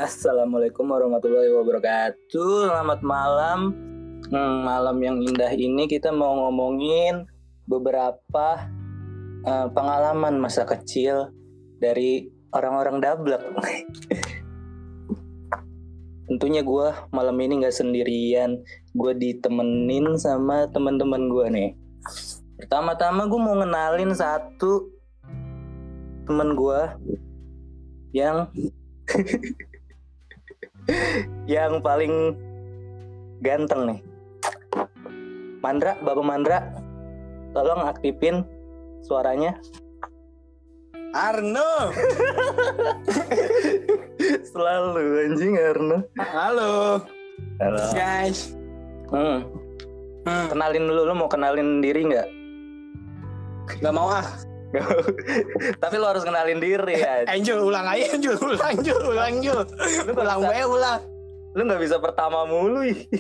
Assalamualaikum warahmatullahi wabarakatuh. Selamat malam. Malam yang indah ini kita mau ngomongin beberapa pengalaman masa kecil dari orang-orang dablek. Tentunya gue malam ini gak sendirian. Gue ditemenin sama teman-teman gue nih. Pertama-tama gue mau ngenalin satu teman gue yang yang paling ganteng nih. Mandra, Bapak Mandra, tolong aktifin suaranya. Arno. Selalu anjing Arno. Halo. Halo guys. Kenalin dulu, lu mau kenalin diri nggak? Gak mau ah. Tapi lu harus kenalin diri ya. Anjul, ulang aja Anjul. Ulang. Lu nggak bisa pertama mulu.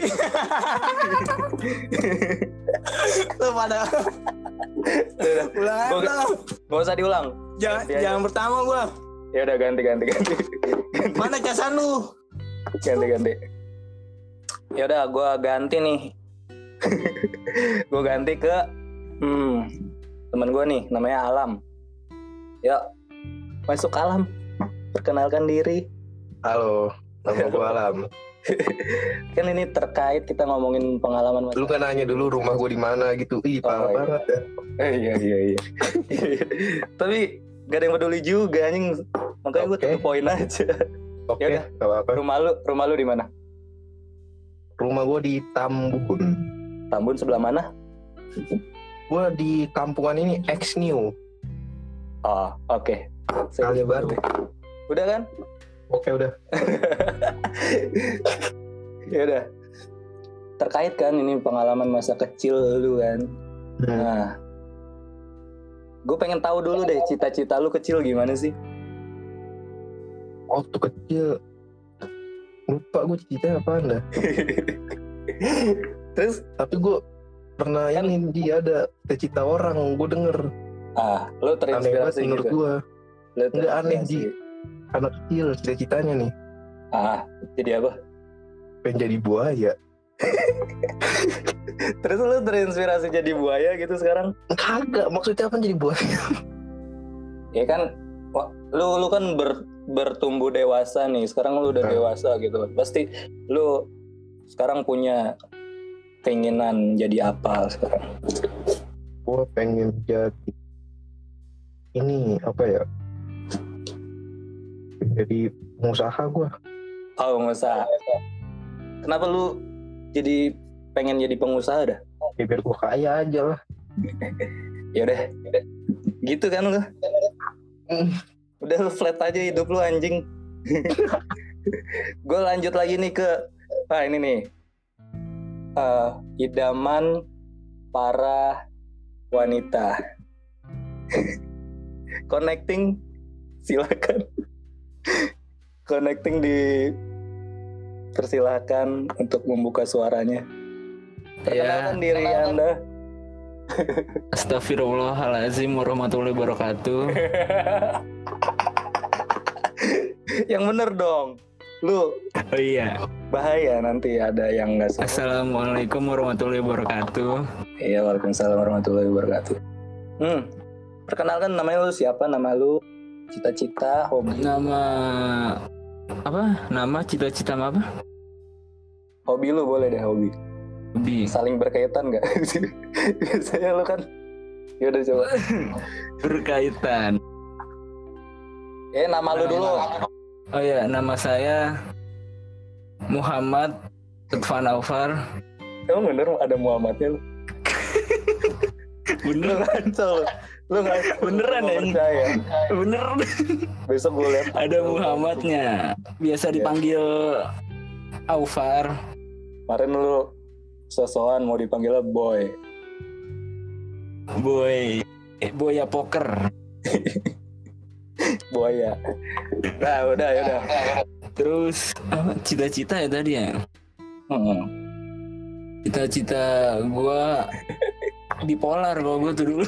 Lu pada ulang aja. Gak usah diulang. Jangan pertama gua. Ya udah ganti. Mana casan lu? Ganti. Ya udah gua ganti nih. Gua ganti ke teman gue nih, namanya Alam. Yuk, masuk Alam. Perkenalkan diri. Halo, nama gue Alam. Kan ini terkait kita ngomongin pengalaman masa. Lu kan nanya dulu rumah gue di mana gitu. Parah banget ya. Iya. Tapi gak ada yang peduli juga anjing. Makanya gue tuh poin aja. Oke, Yaudah. gak apa-apa. Rumah lu di mana? Rumah gue di Tambun. Tambun sebelah mana? Gue di kampungan ini X-New. Oh, oke. Kali baru. Udah kan? Oke, udah. Ya udah. Terkait kan ini pengalaman masa kecil lu kan. Nah, gue pengen tahu dulu deh cita-cita lu kecil gimana sih? Waktu kecil lupa gue cita apaan dah. Terus? Tapi gue pernah Kan- ini dia ada cita-cita orang, gue denger. Lu terinspirasi Aneh banget menurut gitu? gue. Lu Nggak aneh, terinspirasi? Ji. Anak kecil cita-citanya nih Jadi apa? pengen jadi buaya. Terus lu terinspirasi jadi buaya gitu sekarang? Kagak, maksudnya apa jadi buaya? Ya kan, lu kan bertumbuh dewasa nih. Sekarang lu udah dewasa gitu. Pasti lu sekarang punya keinginan jadi apa sekarang? Gue pengen jadi ini apa ya? Jadi pengusaha gue. Oh, pengusaha. Kenapa lu jadi pengen jadi pengusaha dah? Ya biar gue kaya aja lah. Ya udah. Gitu kan lu? Udah lu flat aja hidup lu anjing. Gue lanjut lagi nih ke ini nih. Idaman para wanita. Connecting, silakan. Connecting persilakan untuk membuka suaranya. Perkenalkan diri Anda. Astagfirullahaladzim warahmatullahi wabarakatuh. Yang bener dong. Lu Oh iya. bahaya nanti ada yang nggak suka. Assalamualaikum warahmatullahi wabarakatuh. Iya, waalaikumsalam warahmatullahi wabarakatuh. Perkenalkan namanya lu siapa? Nama lu, cita-cita, hobi. Nama apa? Nama cita-cita apa? Hobi lu boleh deh, hobi. Hobi. Saling berkaitan nggak? Biasanya lu kan. Ya udah coba. Berkaitan. Nama lu dulu. Oh ya, nama saya Muhammad Lutfan Aufar. Emang bener ada Muhammadnya lu? Bener. Lu nggak Beneran ya? percaya. Bener. Besok gue lihat Ada Muhammadnya. Biasa dipanggil Aufar. kemarin lu sosokan mau dipanggilnya boy. Boya poker. Buaya. Nah udah ya udah. Terus cita-cita ya tadi ya. Cita-cita gue bipolar kalau gue tuh dulu.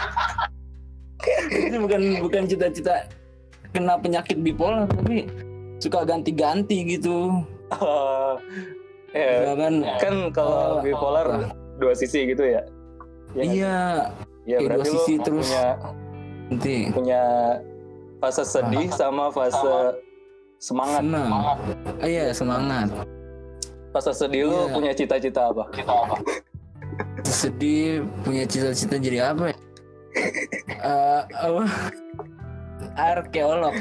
Ini bukan cita-cita kena penyakit bipolar, tapi suka ganti-ganti gitu. Oh, ya. Misalkan Kan kalau bipolar dua sisi gitu ya. iya, Ya kayak berarti dua sisi lu terus. nanti punya fase sedih sama fase semangat. senang. Iya, semangat. Fase sedih lu Iya. punya cita-cita apa? Sedih punya cita-cita jadi apa ya? Apa? Arkeolog.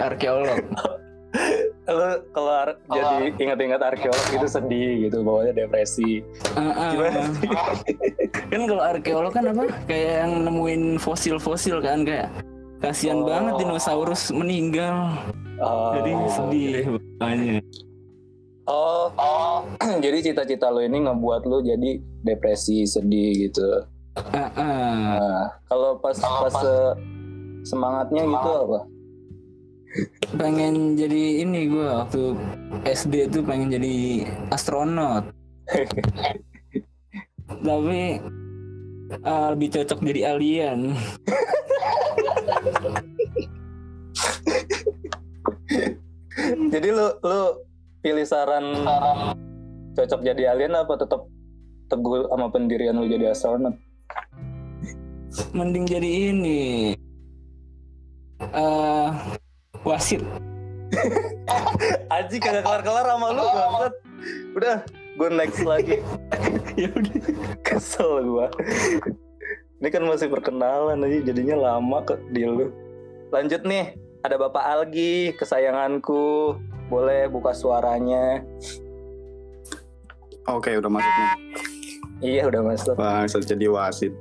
Lu kalau jadi ingat-ingat arkeolog itu sedih gitu, bawahnya depresi. Gimana sih? Kan kalau arkeolog kan apa? Kayak yang nemuin fosil-fosil kan, kayak kasihan banget dinosaurus meninggal. Oh, Jadi sedih banget. Oh, jadi cita-cita lu ini ngebuat lu jadi depresi, sedih gitu. Nah, kalau pas semangatnya gitu apa? Pengen jadi ini, gue waktu SD tuh pengen jadi astronot. Tapi lebih cocok jadi alien. Jadi lu pilih saran cocok jadi alien apa tetap teguh sama pendirian lu jadi astronot? Mending jadi ini wasit. Aji kagak kelar-kelar sama lu banget. Udah, gue next lagi. Ya udah. Kesel gue. Ini kan masih perkenalan aja, jadinya lama ke di lu. Lanjut nih, ada Bapak Algi, kesayanganku. Boleh buka suaranya. Oke, udah masuk nih. Iya, udah masuk. Bisa jadi wasit.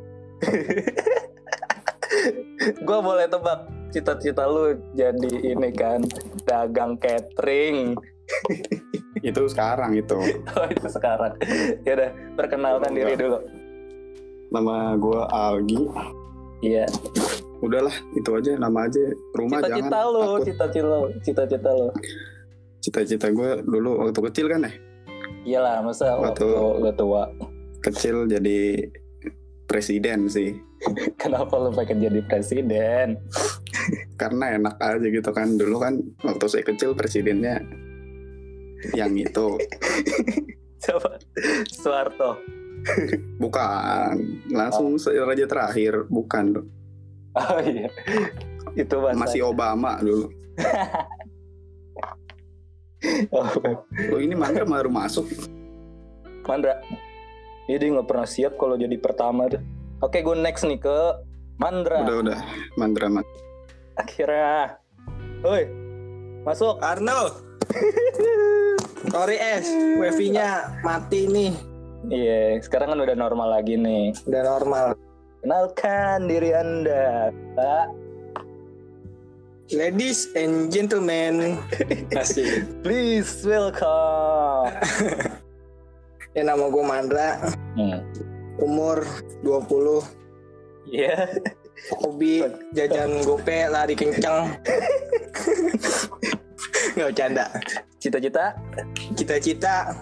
Gue boleh tebak cita-cita lu jadi ini kan, dagang catering. Itu sekarang itu. Oh, itu sekarang. Ya udah, perkenalkan diri dulu. Nama gue Algi. Iya. Udahlah, itu aja, nama aja. Rumah Cita-cita jangan. lu, Takut. cita-cita lu. Cita-cita gue dulu waktu kecil kan ya. Iyalah, masa waktu lu tua. Kecil jadi presiden sih. Kenapa lu pengen jadi presiden? Karena enak aja gitu kan. Dulu kan waktu saya kecil presidennya yang itu. Coba Soeharto. Bukan. Langsung raja terakhir. Bukan. Oh iya. Itu Masih Obama dulu. Oh, ini Mandra baru masuk. Mandra. Dia nggak pernah siap kalau jadi pertama tuh. Oke, gue next nih ke Mandra. Udah. Mandra. Akhirnya. Woi. Masuk. Arno. Sorry wifi-nya mati nih. Iya, sekarang kan udah normal lagi nih. Udah normal. Kenalkan diri Anda, Pak. Ladies and gentlemen. Asik. Please welcome. Ya, nama gue Mandra. Umur 20. Iya. Hobi jajan gope, lari kencang. Nggak bercanda. Cita-cita? Cita-cita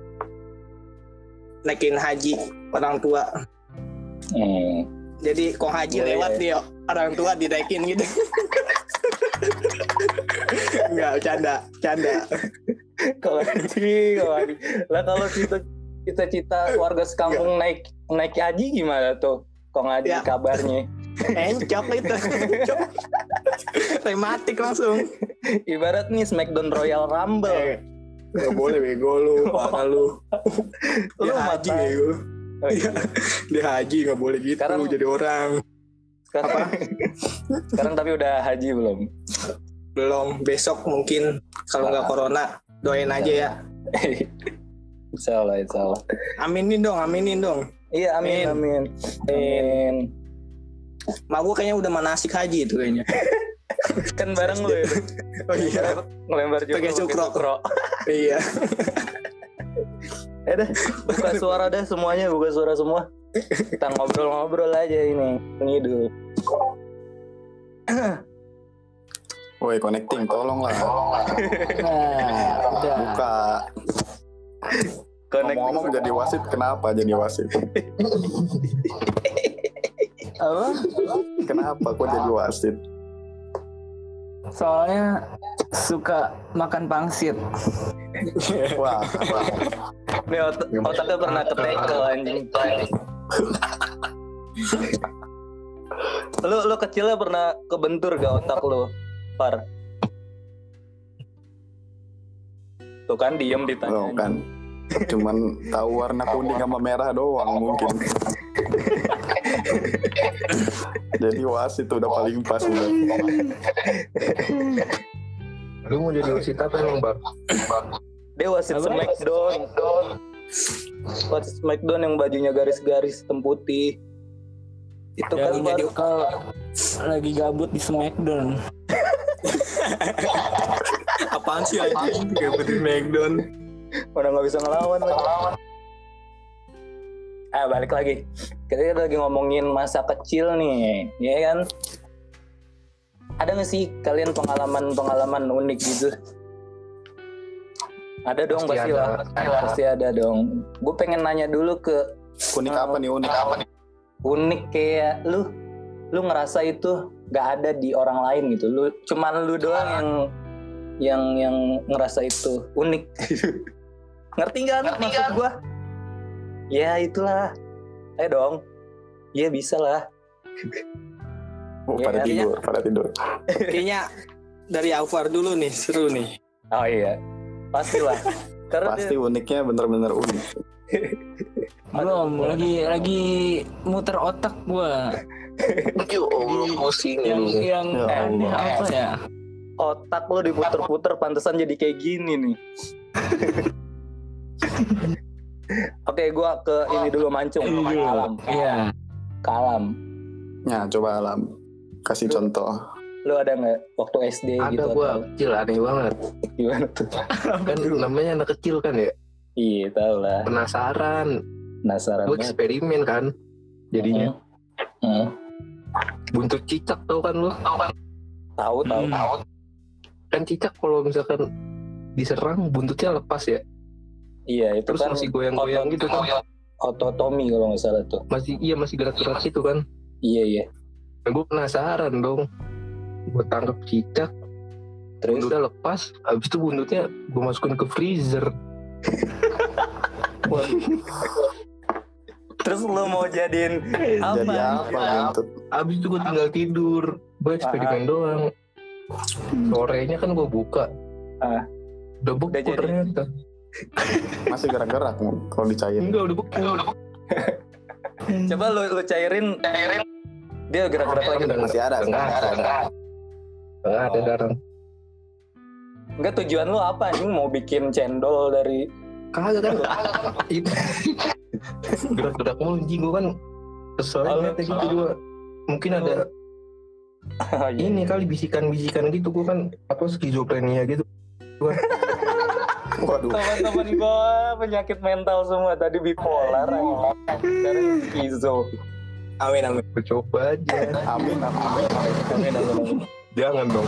naikin haji orang tua. Jadi kok haji Boleh. lewat dia orang tua dinaikin gitu. Nggak bercanda. Kalau haji. Lah kalau cita-cita warga sekampung naik haji gimana tuh? Kok ngaji Ya. kabarnya? Encok itu. Tematik langsung. Ibarat nih Smackdown Royal Rumble. Nggak boleh bego lu, parah lu. Lu Dia haji mata- bego. Oh, iya. Dia haji nggak boleh gitu Sekarang- jadi orang. Sekarang tapi udah haji belum? Belum, besok mungkin kalau nggak corona doain aja ya. Insya Allah. Aminin dong. Iya, amin. Mak gue kayaknya udah manasik haji itu kayaknya. Kan bareng lu ya. Oh iya. Ngelempar juga Pakai cukro. cukro. Iya. Dah, buka suara dah semuanya, buka suara semua. Kita ngobrol-ngobrol aja ini. Ngidul. Woi, connecting, tolonglah. Nah, udah. Buka. Ngomong-ngomong jadi wasit, kenapa jadi wasit? Apa? Kenapa kok jadi wasit? Soalnya suka makan pangsit. Wah, Nih otaknya pernah ketekel anjing. Lu kecilnya pernah kebentur gak otak lu, Par? Tuh kan diem ditanya. oh, kan. Cuman tahu warna kuning sama merah doang mungkin. Jadi wasit udah paling pas udah. Lu mau jadi wasit apa emang, Bang? Dia wasit Smackdown. Wasit Smackdown yang bajunya garis-garis hitam putih. Itu kan Yang jadi kalau lagi gabut di Smackdown. Apaan sih anjing? Kayak betul Smackdown. udah nggak bisa ngelawan lagi. Balik lagi. Kita lagi ngomongin masa kecil nih, ya kan? Ada nggak sih kalian pengalaman unik gitu? Ada dong pasti lah. Pasti ada dong. Gue pengen nanya dulu ke Unik apa nih? Unik apa nih? unik kayak lu ngerasa itu nggak ada di orang lain gitu. Cuman lu doang yang ngerasa itu unik. Ngerti nggak maksud gue? Ya itulah. Ayo dong. Iya bisa lah. Oh, Ya, pada tidur. Kayaknya dari Alvar dulu nih, seru nih. Oh iya. Pastilah. Karena Pasti uniknya bener-bener unik. Belum, lagi muter otak gua. Pusing Yang Ya aneh Allah. apa ya? otak lo diputer-puter pantesan jadi kayak gini nih. Oke, gua ke ini dulu mancung. Kalam. Iya. Kalam. Nah, coba Alam. Kasih contoh. Lu ada nggak waktu SD Ada gitu? gua atau kecil aneh banget. gimana tuh? Kan namanya anak kecil kan ya. Iya, tau lah. Penasaran. Penasaran Gua banget. eksperimen kan. Jadinya Hmm. buntut cicak tau kan lu? Tahu. Kan cicak kalau misalkan diserang buntutnya lepas ya. Iya, itu Terus kan masih goyang-goyang gitu kan. ototomi kalau nggak salah tuh. Masih gerak-gerak gitu kan. Iya. Nah, gue penasaran dong. Gue tangkap cicak, Terus udah lepas. Habis itu buntutnya gue masukin ke freezer. terus lu mau jadiin apa? Jadi apa gitu? Habis itu gue tinggal tidur. Gue eksperimen doang. Sorenya kan gue buka. Udah beku Udah jadi. ternyata. Masih gerak-gerak kalau dicairin. Enggak, udah beku. Coba lu cairin. Dia gerak-gerak lagi. Masih ada. Enggak ada sekarang. Enggak, tujuan lu apa anjing? Mau bikin cendol dari Kagak kan. Itu gerak-gerak mulu anjing gue kan. Kesel aja gitu gue. Mungkin ada ini kali bisikan-bisikan gitu. Gue kan skizofrenia gitu. Waduh. teman-teman gua penyakit mental semua, tadi bipolar, sekarang skizo. Amin. Gue coba aja. Amin. Jangan dong.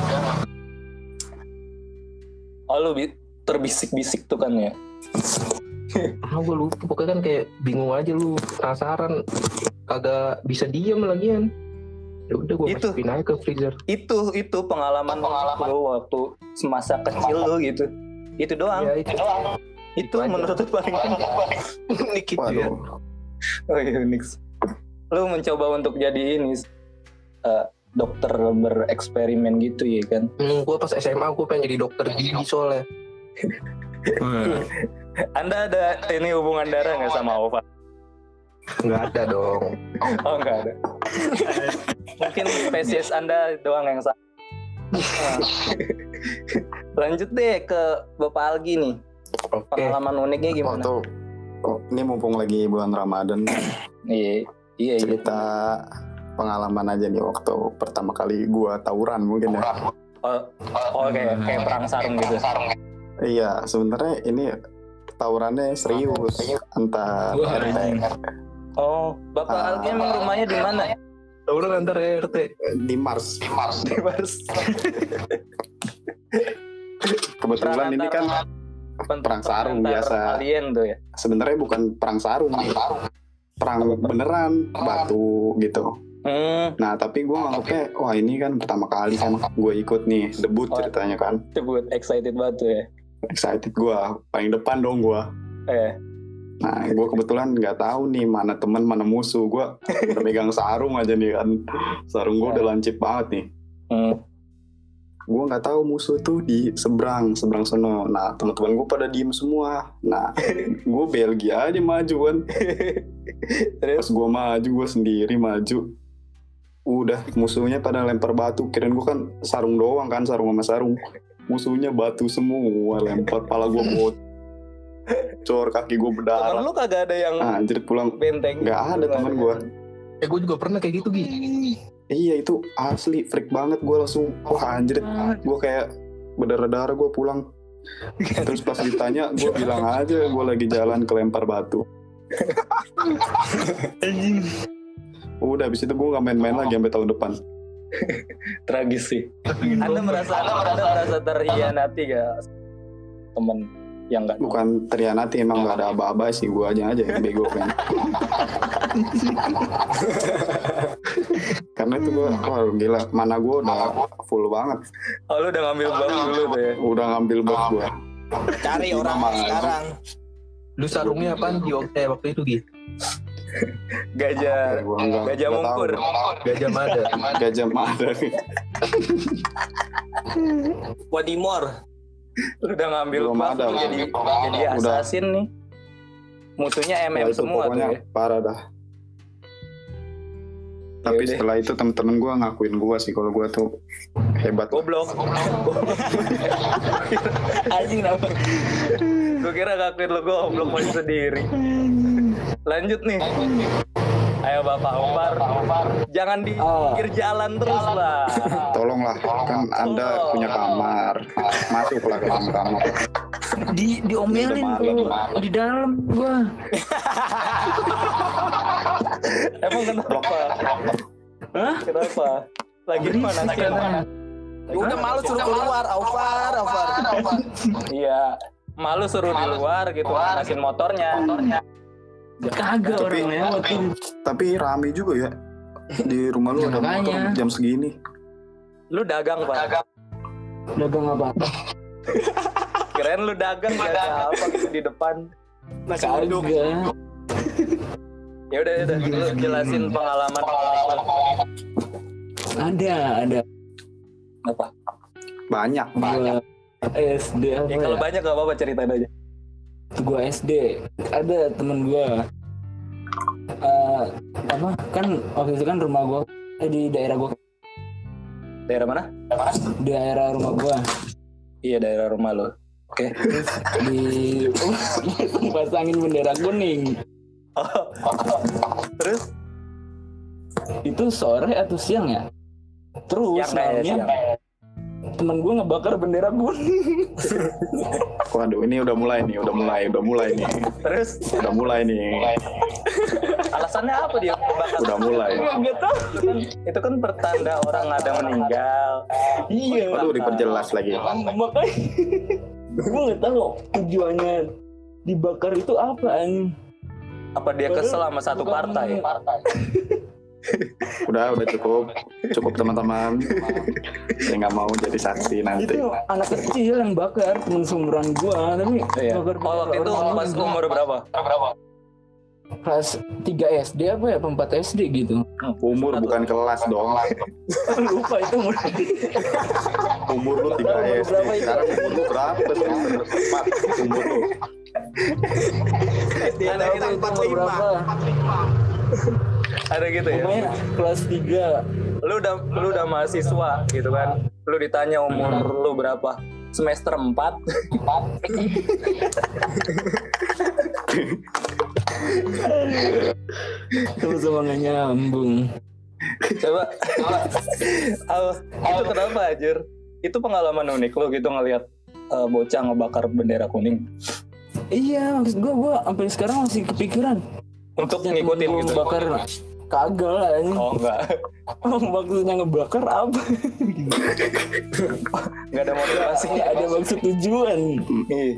Oh, lu terbisik-bisik tuh kan ya? Gue lupa. Pokoknya kan kayak bingung aja lu. Penasaran. Kagak bisa diem lagian. Ya udah gue Itu. masukin aja ke freezer. Itu pengalaman lu waktu semasa kecil lu gitu. Itu doang. Ya itu. Itu aja. menurut lu paling Unik gitu ya. Waduh. Oh iya, unik. Lu mencoba untuk jadi ini dokter bereksperimen gitu ya kan? Gue pas SMA gue pengen jadi dokter gigi soalnya. Anda ada ini hubungan darah nggak sama Ova? Nggak ada dong. Oh, nggak ada. Mungkin spesies Anda doang yang sama. Lanjut deh ke Bapak Algi nih. Oke. Pengalaman uniknya gimana? Ini mumpung lagi bulan Ramadan, Iya. cerita pengalaman aja nih waktu pertama kali gua tawuran mungkin ya. Oh, kayak perang sarung gitu. Iya, sebenarnya ini tawurannya serius antar Wah, RT. Oh, Bapak Algi emang rumahnya di mana? Tawuran antar RT. Di Mars. Di Mars. Kebetulan ini kan perang sarung biasa. Alien tuh ya. Sebenarnya bukan perang sarung nih. Perang beneran, batu gitu. Nah tapi gue nganggapnya wah ini kan pertama kali kan gue ikut nih debut ceritanya kan. Debut, excited banget tuh ya. Excited gue, paling depan dong gue. Nah gue kebetulan nggak tahu nih mana teman mana musuh. Gue udah megang sarung aja nih kan. Sarung gue udah lancip banget nih. Gue nggak tahu musuh tuh di seberang sono. Nah teman-teman gue pada diem semua. Nah gue Belgia aja maju kan. Terus gue maju, gue sendiri maju. Udah musuhnya pada lempar batu. Kirain gue kan sarung doang kan, sarung sama sarung. Musuhnya batu semua, lempar, pala gue bocor, kaki gue berdarah. Temen lu kagak ada yang anjir pulang benteng? Gak ada teman gue. Gue juga pernah kayak gitu Gi. Iya itu asli freak banget. Gue langsung wah anjir, gue kayak berdarah-darah gue pulang. Terus pas ditanya gue bilang aja gue lagi jalan kelempar batu. Udah abis itu gue gak main-main lagi sampai tahun depan. Tragis sih. Anda merasa terhianati gak temen yang gak? Bukan terhianati, emang gak ada aba-aba sih. Gue aja yang bego kan. Karena itu gue wah gila, mana gue udah full banget. Oh lu udah ngambil buff dulu tuh ya? Udah ngambil buff gue. Cari orang sekarang. Lu sarungnya apaan Gi waktu itu Gi? Gajah mungkur. Gajah Mada. Gajah Mada. Wadimor. Lu udah ngambil Belum buff ada, tuh jadi assassin nih. Musuhnya MM itu semua tuh pokoknya ya. parah dah. Tapi Yaudah. setelah itu temen-temen gue ngakuin gue sih kalau gue tuh hebat. Goblok. Anjing kenapa? Gue kira ngakuin lu goblok masih sendiri. Lanjut nih. Ayo Bapak Omar. Jangan di pinggir jalan terus lah. Tolonglah, kan Anda punya kamar. Masuklah ke dalam kamar. Diomelin tuh di dalam gua. Emang kenapa? Hah? Kenapa? Lagi di mana sih? Udah malu suruh keluar, Aufar. Iya, malu suruh di luar gitu, manasin motornya. Kagak orang lewat tuh. Tapi rame juga ya. Di rumah lu ada motor Makanya. jam segini. Lu dagang, Pak. Dagang apa? Kirain lu dagang apa gitu di depan. Nasi uduk. Kagak. Ya udah, lu jelasin pengalaman. Ada. Apa? Banyak. Gua SD apa Ya kalau banyak gak apa-apa, ceritain aja. Gua SD ada temen gua kan waktu itu kan rumah gua di daerah gua. Daerah mana? Daerah rumah gua Iya, daerah rumah lo. Oke. di pasangin bendera kuning. Terus? Itu sore atau siang ya? Terus Siang kayaknya, malamnya siang. temen gua ngebakar bendera kuning. Waduh, ini udah mulai nih. Terus? Udah mulai nih. Alasannya apa dia bakar? Udah mulai. Gak tau. Itu kan pertanda orang ada meninggal. Iya. Waduh, diperjelas lagi. Makanya gue nggak tahu tujuannya dibakar itu apa anjing. Apa dia kesel sama satu partai? Udah cukup teman-teman. Saya nggak mau jadi saksi nanti. Itu anak kecil yang bakar temen seumuran gua tapi Iya. bakar Oh, waktu itu orang pas meninggal. umur berapa? Kelas 3 SD apa ya, 4 SD gitu. Umur bukan kelas dong. Lupa itu umur. Umur lu 3 SD. Berapa itu? Sekarang umur lu berapa? Semester 4 umur lu. Ada gitu, Umur berapa? ada gitu ya. Pokoknya kelas 3. Lu udah mahasiswa gitu kan. Lu ditanya umur lu berapa? Semester 4. Sama nggak nyambung. Coba. Itu kenapa anjir? Itu pengalaman unik lu gitu ngelihat bocah ngebakar bendera kuning. Iya, maksud gua sampai sekarang masih kepikiran Untuk ngikutin gitu. bakar. Kagak lah anjing. Oh enggak. Maksudnya ngebakar apa? Enggak ada motivasi. Ada maksud tujuan. Iya.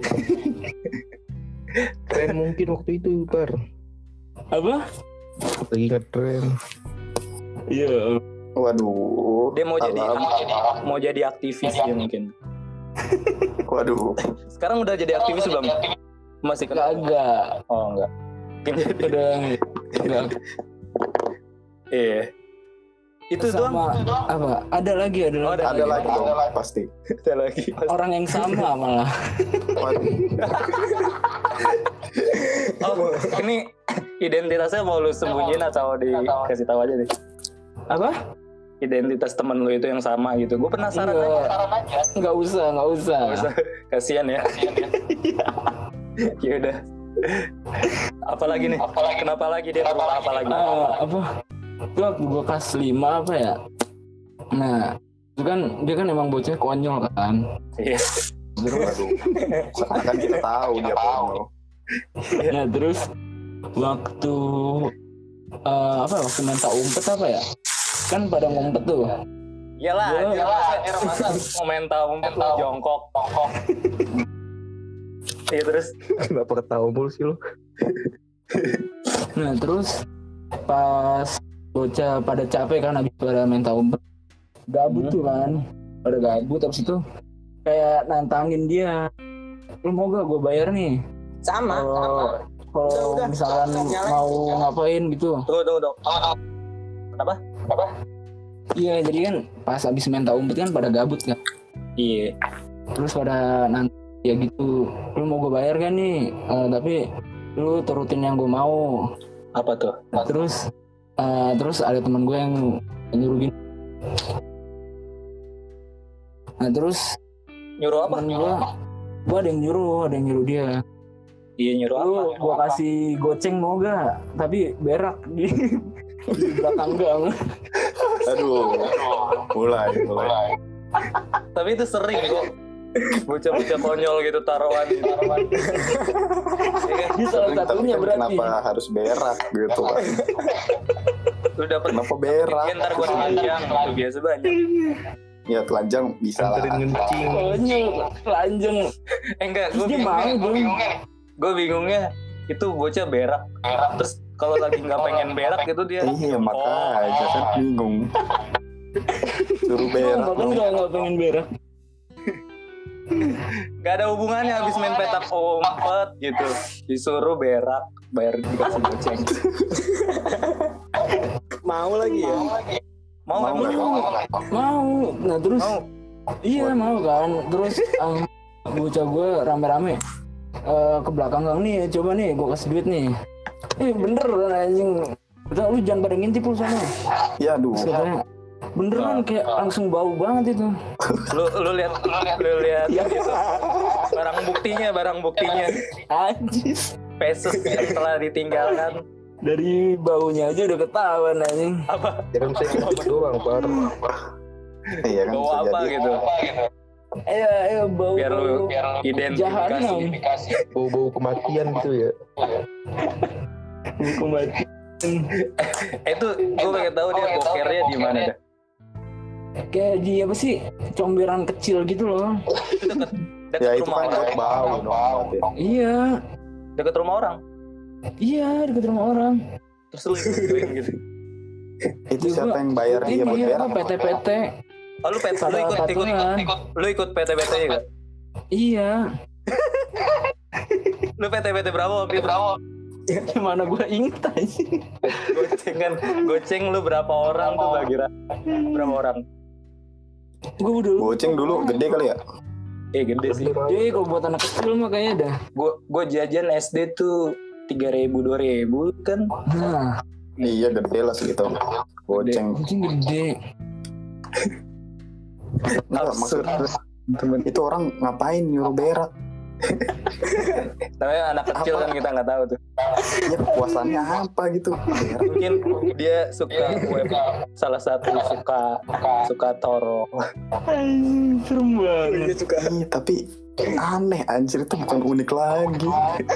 Tren mungkin waktu itu Par. Apa? Lagi ngetren. Iya. Waduh. Dia mau jadi aktivis dia mungkin. Waduh. Sekarang udah jadi aktivis belum? Masih Kagak. Oh enggak. Udah enggak. Iya. Itu sama doang. apa? Ada lagi. Ada lagi dong, pasti. Ada lagi. Orang yang sama malah. Waduh. Oh, ini identitasnya mau lu sembunyiin atau dikasih tahu aja nih? Apa? Identitas temen lu itu yang sama gitu. Gue penasaran aja. Enggak usah. Kasian ya. Ya udah. Apalagi nih? Kenapa lagi dia? Apa lagi? Apa? Itu waktu gue kelas 5 apa ya? Nah, itu kan dia kan emang bocah konyol kan. Iya. Terus kan kita tahu dia konyol. Nah, terus waktu waktu main tak umpet apa ya? Kan pada ngumpet tuh. Iyalah, masa komentar umpet lu jongkok. Iya terus. Kenapa ketawa mulu sih lo? Nah, terus pas bocah pada capek kan habis pada main tak umpet. Gabut tuh kan. Pada gabut habis itu kayak nantangin dia. Lu mau gak gue bayar nih? Sama. Kalau misalkan mau ngapain gitu. Tunggu. Kenapa? Iya, jadi kan pas abis main tak umpet kan pada gabut kan. Iya. Terus pada nanti ya gitu, lu mau gue bayar kan nih, tapi lu turutin yang gue mau. Apa tuh? Terus ada teman gue yang nyuruh gini. Nah terus Nyuruh apa? Gue ada yang nyuruh dia. Iya nyuruh Lu apa? gue kasih goceng mau gak? Tapi berak di belakang gang. Aduh. Mulai. Tapi itu sering kok. Bocah-bocah konyol gitu taruhan. Ini salah satunya kan berarti. kenapa harus berak gitu kan? Lu dapet Kenapa berak? ntar gue telanjang. Itu biasa banyak. Ya telanjang bisa lah. Anterin ngencing. Konyol, telanjang. Enggak, Terus dia mau dong. gue bingungnya itu bocah berak. Terus kalau lagi nggak pengen berak gitu dia. Iya makanya kan bingung. Suruh berak. Bahkan nggak pengen berak. Gak ada hubungannya habis main petak umpet gitu. Disuruh berak, bayar dikasih goceng. Mau lagi ya? Mau. Nah terus iya mau kan. Terus bocah gue rame-rame ke belakang gang nih, coba nih gue kasih duit nih. Bener anjing. Udah lu jangan pada ngintip lu sana. Ya aduh. Sebenarnya beneran kayak langsung bau banget itu. Lu lihat gitu. Barang buktinya. Anjis. Pesos yang telah ditinggalkan. Dari baunya aja udah ketahuan anjing. Apa? Jangan saya ngikut doang, Par. Iya kan Bau bisa apa jadi. gitu. Ayo bau. Biar lu identifikasi. Bau-bau kematian gitu ya. Kembali. Itu gue pengen tahu dia bokernya di mana dah. Kayak di apa sih? Comberan kecil gitu loh. Deket Ya itu rumah kan orang. buat bau dong. Iya. Deket rumah orang. Iya, dekat rumah orang. Terus lu ikutin gitu. Itu siapa yang bayar dia buat Ini berak? apa PT. Oh, lu Pada patungan. Lu ikut PT-PT juga? Iya. Lu PT-PT berapa waktu itu? Gimana gue inget aja. Goceng lu berapa orang tuh bagi berapa orang? Gue udah lupa. Goceng dulu gede kali ya? Gede sih. Jadi kalau buat anak kecil mah kayaknya dah. Gue jajan SD tuh 3.000 2.000 kan. Nah, Iya gede lah segitu. Goceng. kucing gede. Nggak maksud itu orang ngapain nyuruh berak? Namanya anak kecil kan kita nggak tahu tuh. Ya puasannya apa gitu? Berak. Mungkin dia suka web, salah satu suka Toro. Serem banget. Dia suka. Ih, tapi aneh anjir itu bukan unik lagi.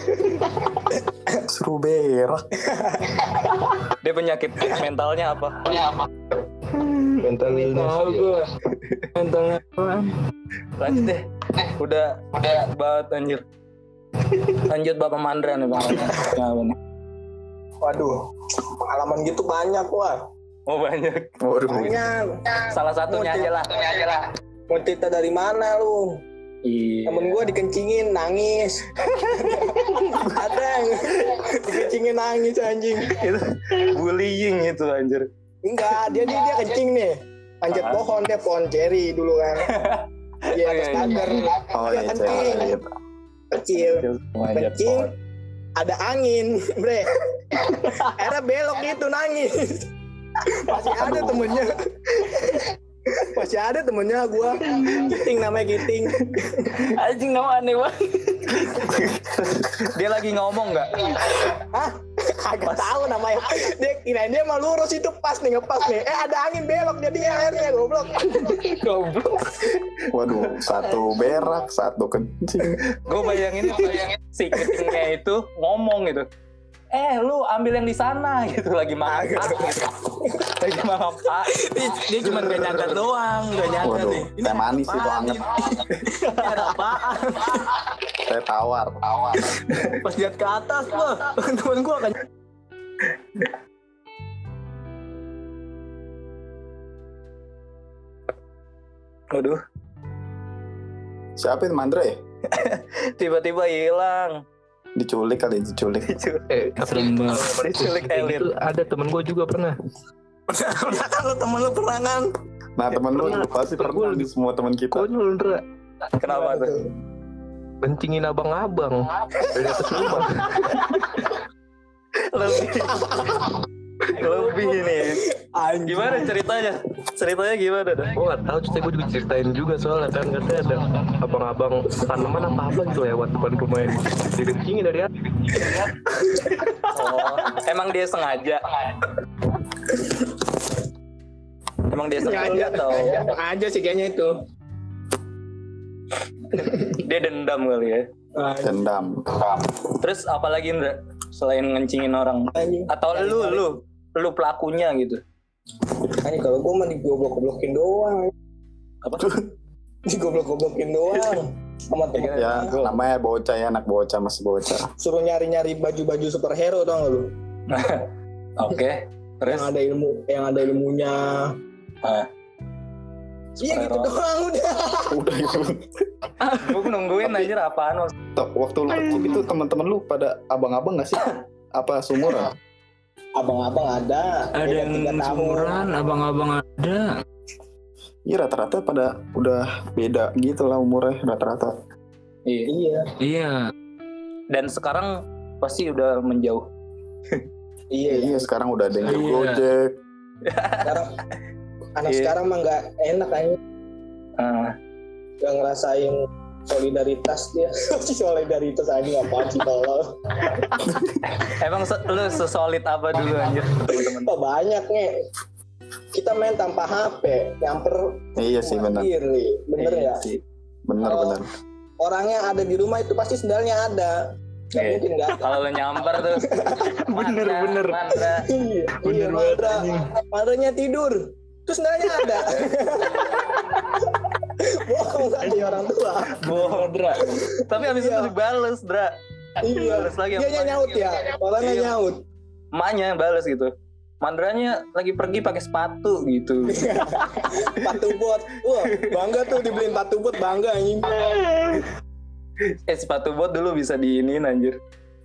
Suruh berak. Dia penyakit mentalnya apa? Mental illness. Tahu gue. Mentalnya apaan? Lanjut deh. Udah banget anjir. Lanjut Bapak Mandra nih Bang. Ya, bener. Waduh, pengalaman gitu banyak wah. Oh banyak. Waduh. Banyak. Salah satunya aja lah. Mau cerita dari mana lu? Iya. Temen gue dikencingin nangis. Ada yang dikencingin nangis anjing. Itu bullying itu anjir. Enggak, dia kencing nih. Panjat pohon, dia pohon ceri dulu kan. Iya, atas pagar. Oh Dia iya, kencing. Kecil. Kencing. Ada angin, bre. Era belok gitu nangis. Masih ada temennya gua. Giting namanya Giting. Anjing nama aneh banget. Dia lagi ngomong nggak? Hah? Agak tahu namanya. Dia kirain dia mah lurus itu pas nih, ngepas nih. Ada angin belok jadi akhirnya goblok. Waduh, satu berak, satu kencing. Gue bayangin si kencingnya itu ngomong gitu. Lu ambil yang di sana gitu, lagi makan lagi makan Pak. Dia cuma gak nyangka doang, gak nyangka Waduh, nih. teh manis itu anget. Ada apaan? Teh tawar. Pas lihat ke atas gua, temen gua kan. Waduh, Siapa itu Mandre? tiba-tiba hilang. Diculik kali, diculik. Serem banget. Diculik elit. Itu ada temen gue juga pernah. Pernah kan lu temen lu pernah kan? Nah temen lu pasti pernah di semua temen kita. Konyol, Ndra. Kenapa tuh? Kencingin abang-abang dari atas rumah. Lebih nih. Gimana ceritanya? Ceritanya gimana dah? Gue gak tahu, gue juga ceritain juga soalnya kan katanya ada abang-abang tanaman apa gitu lewat depan rumahnya, dikencingin dari atas. Oh, emang dia sengaja? Emang dia sengaja atau? Aja sih kayaknya itu. Dia dendam kali ya? Dendam. Terus apalagi Indra? Selain ngencingin orang? Atau lu pelakunya gitu? Ini kalau gue mah digoblok-goblokin doang. Apa? Digoblok-goblokin doang. Sama temen. Ya namanya bocah ya, anak bocah, masih bocah. Suruh nyari-nyari baju-baju superhero tau gak lu? Oke. Terus? Yang ada ilmunya. Iya gitu doang udah. Udah itu. Gue nungguin anjir apaan. Waktu lu kecil itu teman-teman lu pada abang-abang nggak sih? Apa sumuran? Abang-abang ada. Ada yang sumuran, abang-abang ada. Iya rata-rata pada udah beda gitu lah umurnya rata-rata. Iya. Iya. Dan sekarang pasti udah menjauh. Iya sekarang udah ada yang Gojek. Sekarang anak sekarang mah nggak enak kayaknya. Nggak ngerasain solidaritas dia. Solidaritas aja apaan sih tolong. Emang lu sesolid apa dulu anjir teman-teman? Oh, banyak nih. Kita main tanpa HP, nyamper. Iya sih benar. Bener ya. Benar. Orangnya ada di rumah itu pasti sendalnya ada. Nggak mungkin nggak. Kalau lu nyamper tuh. Bener. Mandra. Iya, Mandranya tidur. Terus sendalnya ada. Bohong tadi orang tua. Bohong, Dra. Tapi habis itu dibales, Dra. Iya. Dia nyaut ya. Orangnya nyaut. Emaknya bales gitu. Mandranya lagi pergi pakai sepatu gitu. Sepatu bot. Wah, bangga tuh dibeliin sepatu bot, bangga anjing. Sepatu bot dulu bisa diinin anjir.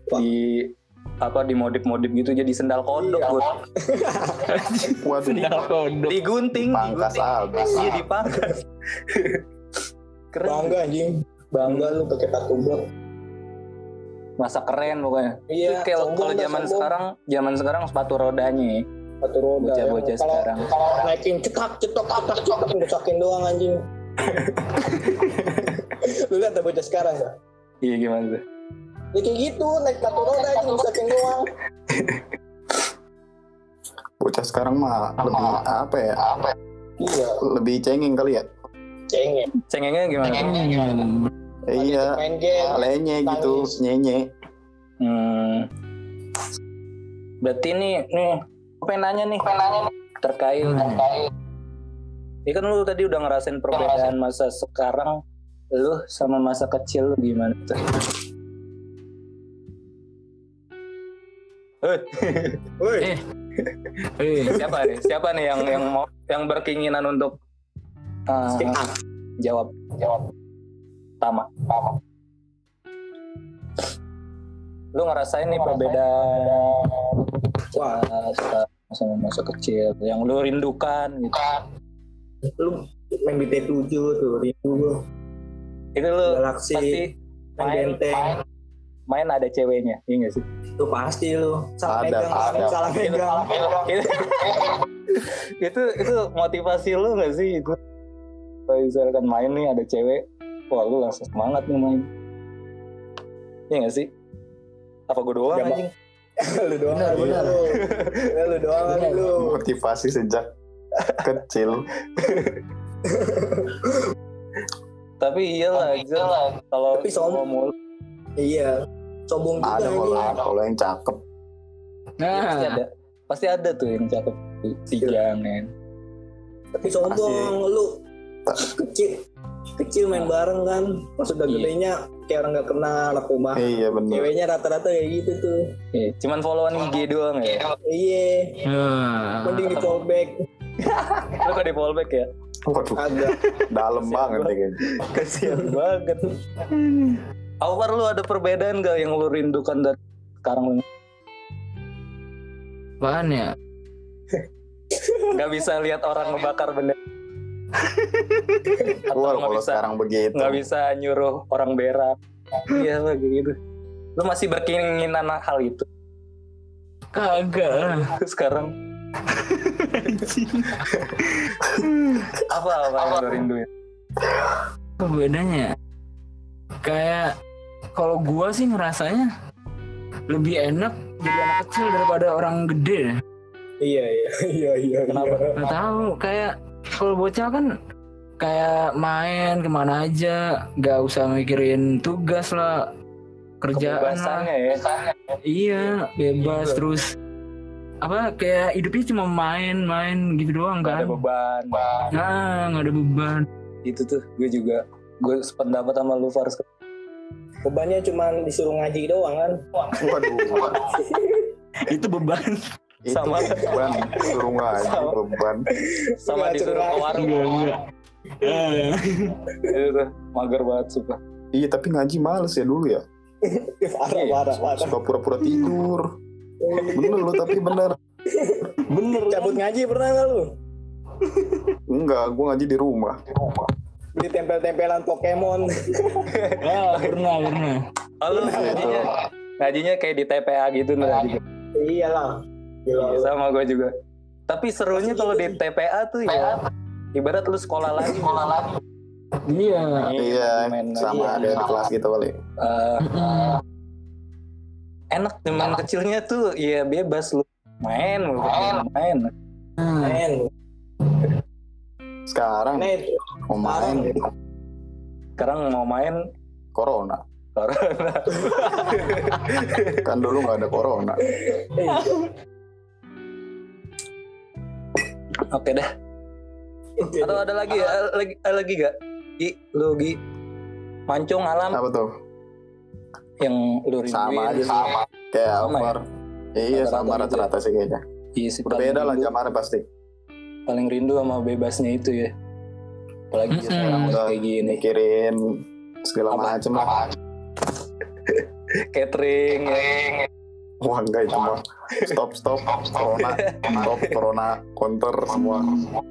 Di modif-modif gitu jadi sendal kodok buat. Waduh. Sendal kodok. Digunting, Pangkas abis. Iya dipangkas. Keren. Bangga anjing. Bangga lu pakai sepatu bot. Masa keren pokoknya. Iya. Kalau zaman sekarang sepatu rodanya. Sepatu roda. Bocah-bocah sekarang. Kalau naikin cetak besakin doang anjing. Lu lihat bocah sekarang ya? Iya gimana tuh? Ya kayak gitu, naik sepatu roda aja besakin doang. Bocah sekarang mah lebih apa ya? Iya. Lebih cengeng kali ya? Cengengnya gimana? Iya. Main game. Lenye gitu, nyenye. Berarti nih, gue pengen nanya nih terkait. Ini kan lu tadi udah ngerasain perbedaan masa sekarang lu sama masa kecil lu gimana tuh? Woi. Siapa nih yang berkeinginan untuk jawab Tama. Lu ngerasain nih perbedaan masa kecil yang lu rindukan gitu. Lu main BT7 tuh, rindu. Itu lu Galaxy, pasti main benteng. Main ada ceweknya, iya nggak sih? Itu pasti lu salah megang. Itu motivasi lu nggak sih itu? Kalau misalkan main nih ada cewek, wah lu langsung semangat nih main. Iya nggak sih? Apa gue doang anjing? Lu doang. Benar. Lu doang lu. Motivasi sejak kecil. Tapi iyalah kalau sombong. Iya. Sombong juga ada kalau yang cakep. Nah, pasti ada tuh yang cakep jangan. Tapi sombong lu kecil main bareng kan, pas udah gedenya kayak orang nggak kenal aku mah. Iya benar. Ceweknya rata-rata kayak gitu tuh. Iya, cuman followan IG doang ya. Iya. Mending di fallback. Lu kok di fallback ya? Waduh. Agak Dalam banget kayaknya. Kasian banget. Awar lu ada perbedaan gak yang lu rindukan dari sekarang? apaan ya? Gak bisa lihat orang ngebakar benda. Wah, kalau sekarang begitu. Gak bisa nyuruh orang berak. Iya lah gitu. Lu masih berkeinginan hal itu? Kagak. Sekarang apa yang lu rinduin? Apa bedanya? Kayak kalau gua sih ngerasanya lebih enak jadi anak kecil daripada orang gede. Iya. Kenapa? Nggak tahu, kayak kalau bocah kan kayak main kemana aja, nggak usah mikirin tugas lah, kerjaan lah. Ya. Iya, bebas terus. Apa kayak hidupnya cuma main gitu doang kan? Gak ada beban. Nah, nggak ada beban. Itu tuh gue sependapat sama lu Fars. Bebannya cuma disuruh ngaji doang kan. Waduh. Itu beban. Sama beban, suruh ngaji beban. Sama disuruh ke warung. Itu tuh mager banget sumpah. Iya, tapi ngaji males ya dulu ya. Parah. Suka pura-pura tidur. Bener lu, tapi bener. Cabut ngaji pernah nggak lu? Enggak, gue ngaji di rumah. Beli tempel-tempelan Pokemon. Pernah. Oh, lu ngajinya kayak di TPA gitu nih. Iyalah. Iya, sama gue juga. Tapi serunya kalau di TPA tuh ya ibarat lu sekolah lagi. Iya, sama ada di kelas gitu kali. Enak zaman kecilnya tuh ya bebas lu main. Sekarang mau main corona. Kan dulu nggak ada corona. Oke dah. Atau ada lagi ya? Lagi gak? Gi mancung alam. Apa tuh? Yang lu rinduin. Sama aja sih. Kayak Alvar. Ya? Iya, sama rata-rata sih kayaknya. Iya sih. Berbeda lah zamannya pasti. Paling rindu sama bebasnya itu ya. Apalagi sekarang kayak gini. Mikirin segala macem lah. Catering. Wah, enggak itu mah. Stop. Corona counter semua.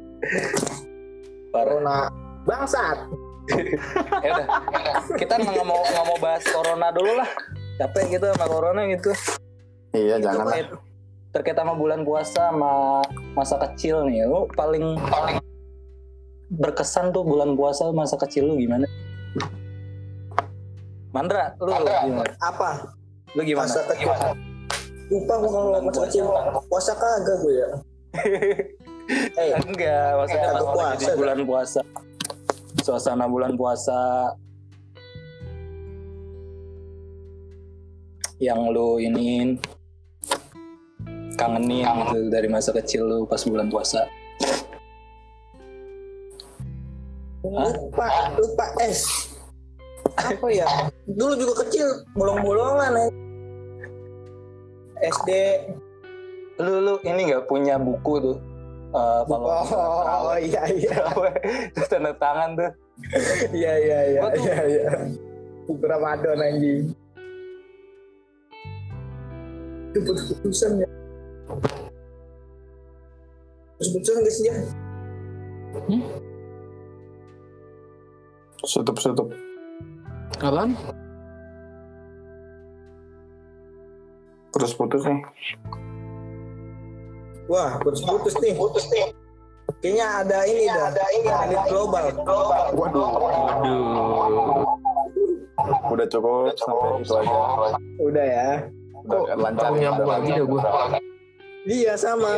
Corona bangsat. Ya udah. Kita nggak mau bahas corona dulu lah. Capek gitu sama corona gitu. Iya, jangan lah. Terkait sama bulan puasa sama masa kecil nih. Lu paling berkesan tuh bulan puasa masa kecil lu gimana? Mandra, lu gimana? Apa? Lu gimana? Masa kecil. Lupa gue kalau masa kecil puasa kagak gue ya. Enggak, maksudnya pas di bulan puasa. Suasana bulan puasa yang lu iniin kangenin gitu dari masa kecil lu pas bulan puasa. Lupa apa ya? Dulu juga kecil bolong-bolongan ya. SD. Lu ini nggak punya buku tuh? Kalau iya. Terus tanda tangan tuh. Iya. Buku Ramadan anjing. Itu putus-putusan ya. Putus-putusan guys ya. Tutup. Apaan? Putus nih. Wah, putus nih. Kayaknya ada ini elit global. Waduh. Udah cukup sampai itu aja. Udah ya. Udah lancar nyambung lagi dah gue. Iya sama.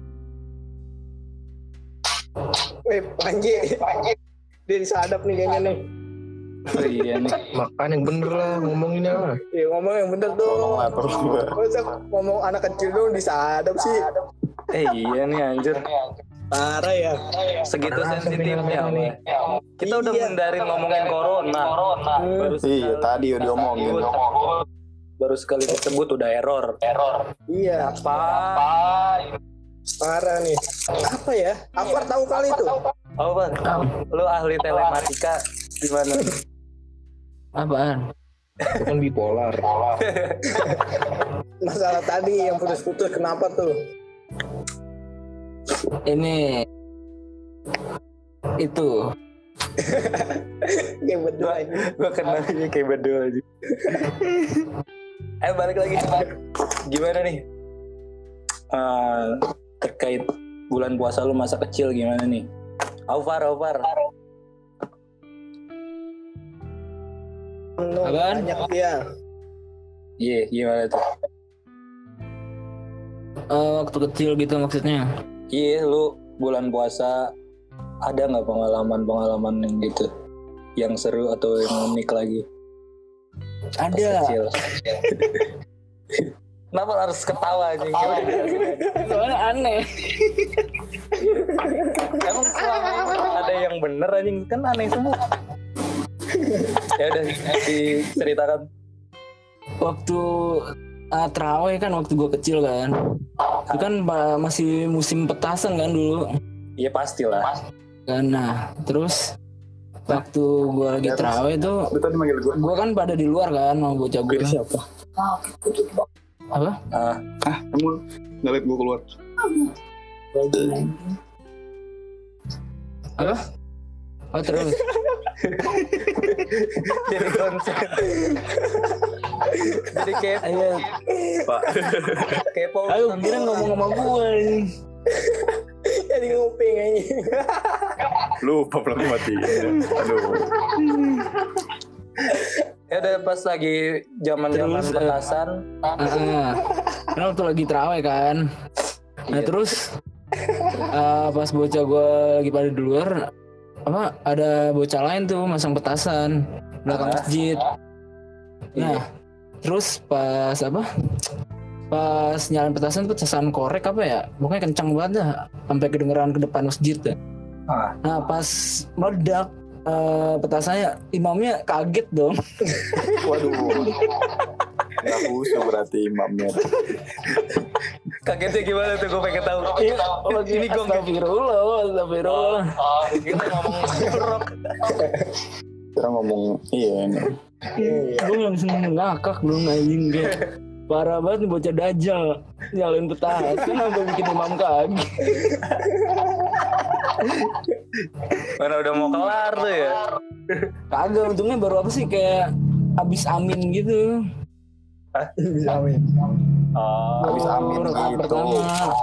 Panji. Dia disadap nih kayaknya nih. Oh, iya nih. Makan yang bener lah, ngomongin lah. Iya ngomong yang bener dong. Masa ngomong anak kecil dong disadap sih. Iya nih anjir. Parah ya. Segitu sensitifnya nih. Kita udah mendarin ngomongin corona. Iya tadi udah diomongin. Baru sekali disebut udah error. Iya. Apa? Parah nih. Apa ya? Apa tahu kali itu? Oh bang, lu ahli telematika gimana? Apaan? Itu kan bipolar. Masalah tadi yang putus-putus kenapa tuh? Ini itu Kayak berdua aja. Gue kenalnya kayak berdua aja. Balik lagi. Gimana nih? Terkait bulan puasa lu masa kecil gimana nih? Aufar. Apaan? Banyak dia. Iya, gimana tuh? Waktu kecil gitu maksudnya. Iya, lu bulan puasa ada nggak pengalaman yang gitu, yang seru atau yang unik lagi? Ada. Kecil. Kenapa harus ketawa aja? Soalnya aneh. Emang selama ini ada yang bener anjing, kan aneh semua. Ya udah diceritakan. Waktu terawih kan waktu gue kecil kan. Itu kan masih musim petasan kan dulu. Iya pastilah. Kan nah, terus waktu gue lagi terawih tuh, gue kan pada di luar kan mau bocah gue. Siapa? Apa? Kamu nggak liat gue keluar? Apa? Oh terus. Jadi konsen. Jadi kepo. Pak. Kepo. Ayo kira ngomong sama gue nih. Jadi nguping aja. Lupa belum mati. Aduh. Ya udah pas lagi zaman-zaman petasan. Kan waktu lagi terawih kan. Nah terus pas bocah gue lagi pada di luar, ada bocah lain tuh masang petasan belakang masjid. Nah terus pas nyalain petasan korek apa ya, pokoknya kencang banget dah sampai kedengeran ke depan masjid dah. Nah pas meledak petasannya, imamnya kaget dong. Waduh. Nggak khusus berarti imamnya. Kagetnya gimana tuh, gue pengen tahu. Ini gue astagfirullah. Kita ngomong jorok. Kita ngomong ini. Gue langsung ngakak dong anjing dia. Parah banget nih bocah dajal nyalain petasan sampai bikin imam kaget. Mana udah mau kelar tuh ya? Kagak, untungnya baru kayak abis amin gitu. Abis amin. Habis amin gitu. Pertama.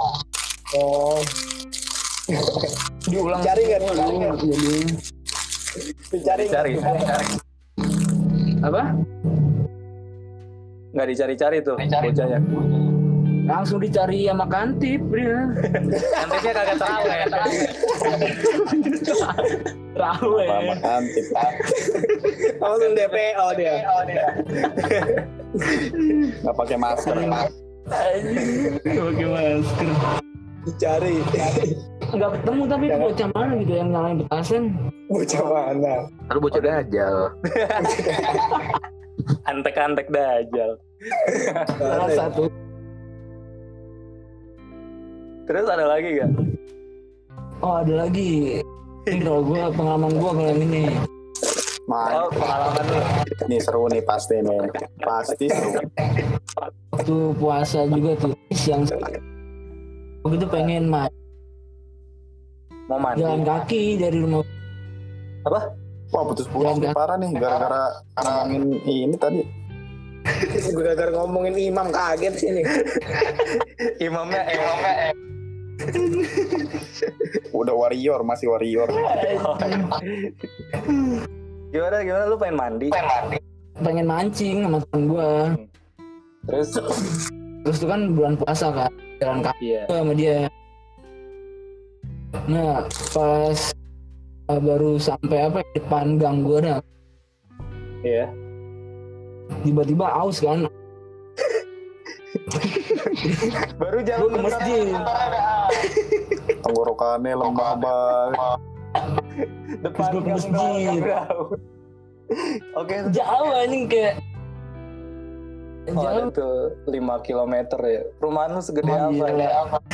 Diulang. Cari kan? Dicari. Apa? Nggak dicari-cari tuh bocahnya. Langsung dicari sama kantip dia. Kantipnya kagak terawih ya. Terawih. Sama kantip. Langsung DPO dia. Nggak pakai masker. Pakai masker. Dicari. Nggak ketemu tapi itu bocah mana gitu yang nyalain petasan. Bocah mana? Lalu bocah dajal. Antek-antek dajal. Salah satu. Terus ada lagi gak? Oh ada lagi. Ini kalau gue pengalaman gue kalau ini. Oh pengalaman lu. Ini seru nih pasti nih. Pasti seru. Waktu puasa juga tuh siang. Begitu pengen main. Mau mandi. Jalan kaki dari rumah. Apa? Wah putus-putus nih parah nih gara-gara ngomongin ini tadi. Gara-gara ngomongin imam kaget sini. Imamnya Udah warrior, masih warrior. Gimana lu pengen mandi? Pengen mancing sama temen gue. Terus itu kan bulan puasa kan, jalan kaki sama dia. Nah pas baru sampai depan gang gue dah. Iya. Tiba-tiba aus kan. Baru jalan ke masjid. Tenggorokannya lemah banget. Depan ke masjid. Oke. Jauh anjing kayak. Ada tuh 5 km ya. Perumahan lu segede apa ya?